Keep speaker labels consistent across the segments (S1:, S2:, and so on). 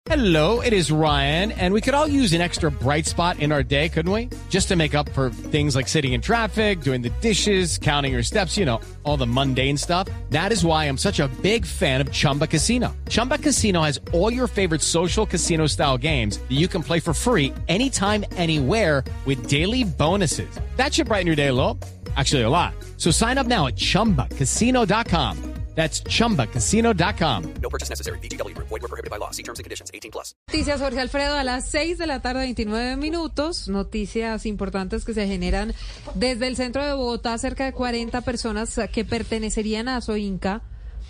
S1: Hello, it is Ryan, and we could all use an extra bright spot in our day, couldn't we? Just to make up for things like sitting in traffic, doing the dishes, counting your steps, you know, all the mundane stuff. That is why I'm such a big fan of Chumba Casino. Chumba Casino has all your favorite social casino-style games that you can play for free anytime, anywhere with daily bonuses. That should brighten your day a little. Actually, a lot. So sign up now at ChumbaCasino.com. That's ChumbaCasino.com.
S2: No purchase necessary. VGW Group. Void where prohibited by law. See terms and conditions. 18+.
S3: Noticias, Jorge Alfredo, a las 6 de la tarde, 29 minutos. Noticias importantes que se generan desde el centro de Bogotá. Cerca de 40 personas que pertenecerían a Soinca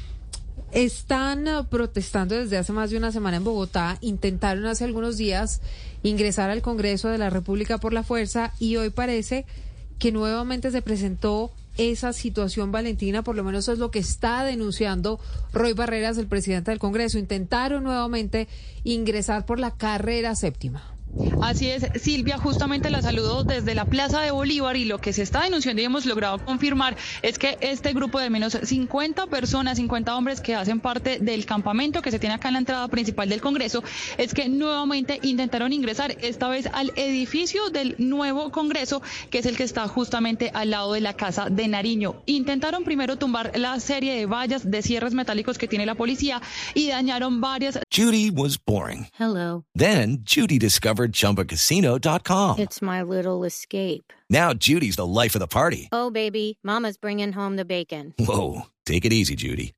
S3: están protestando desde hace más de una semana en Bogotá. Intentaron hace algunos días ingresar al Congreso de la República por la fuerza y hoy parece que nuevamente se presentó esa situación, Valentina. Por lo menos eso es lo que está denunciando Roy Barreras, el presidente del Congreso. Intentaron nuevamente ingresar por la carrera séptima.
S4: Así es, Silvia, justamente la saludo desde la Plaza de Bolívar y lo que se está denunciando y hemos logrado confirmar es que este grupo de menos 50 personas, 50 hombres que hacen parte del campamento que se tiene acá en la entrada principal del Congreso, es que nuevamente intentaron ingresar esta vez al edificio del nuevo Congreso, que es el que está justamente al lado de la Casa de Nariño. Intentaron primero tumbar la serie de vallas, de cierres metálicos que tiene la policía y dañaron varias.
S5: Judy was boring.
S6: Hello.
S5: Then Judy discovered ChumbaCasino.com.
S6: It's my little escape.
S5: Now Judy's the life of the party.
S6: Oh, baby, mama's bringing home the bacon.
S5: Whoa, take it easy, Judy.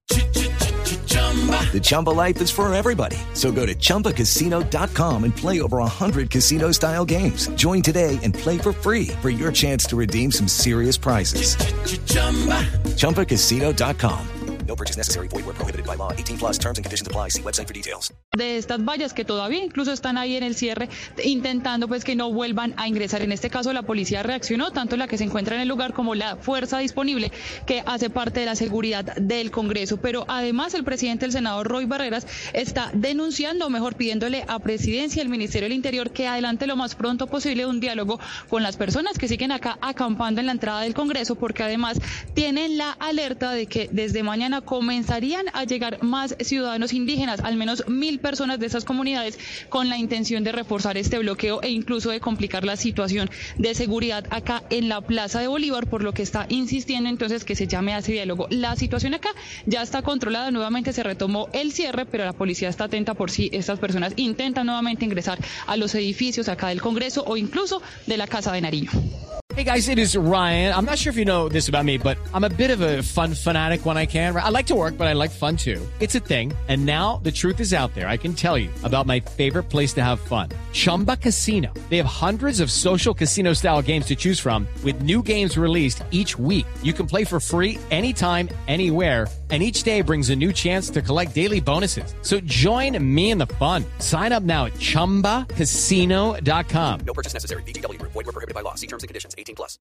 S5: The Chumba life is for everybody. So go to ChumbaCasino.com and play over 100 casino-style games. Join today and play for free for your chance to redeem some serious prizes. ChumbaCasino.com.
S2: No purchase necessary. Void where prohibited by law. 18+. Terms and conditions apply. See website for details.
S4: De estas vallas que todavía incluso están ahí en el cierre, intentando pues que no vuelvan a ingresar. En este caso la policía reaccionó, tanto la que se encuentra en el lugar como la fuerza disponible que hace parte de la seguridad del Congreso. Pero además el presidente del Senado, Roy Barreras, está denunciando, o mejor pidiéndole a Presidencia y al Ministerio del Interior que adelante lo más pronto posible un diálogo con las personas que siguen acá acampando en la entrada del Congreso, porque además tienen la alerta de que desde mañana comenzarían a llegar más ciudadanos indígenas, al menos 1,000 personas de esas comunidades, con la intención de reforzar este bloqueo e incluso de complicar la situación de seguridad acá en la Plaza de Bolívar, por lo que está insistiendo entonces que se llame a ese diálogo. La situación acá ya está controlada, nuevamente se retomó el cierre, pero la policía está atenta por si estas personas intentan nuevamente ingresar a los edificios acá del Congreso o incluso de la Casa de Nariño.
S1: Hey guys, it is Ryan. I'm not sure if you know this about me, but I'm a bit of a fun fanatic when I can. I like to work, but I like fun too. It's a thing. And now the truth is out there. I can tell you about my favorite place to have fun. Chumba Casino. They have hundreds of social casino style games to choose from with new games released each week. You can play for free anytime, anywhere. And each day brings a new chance to collect daily bonuses. So join me in the fun. Sign up now at ChumbaCasino.com.
S2: No purchase necessary. VGW Group. Void where prohibited by law. See terms and conditions. 18+.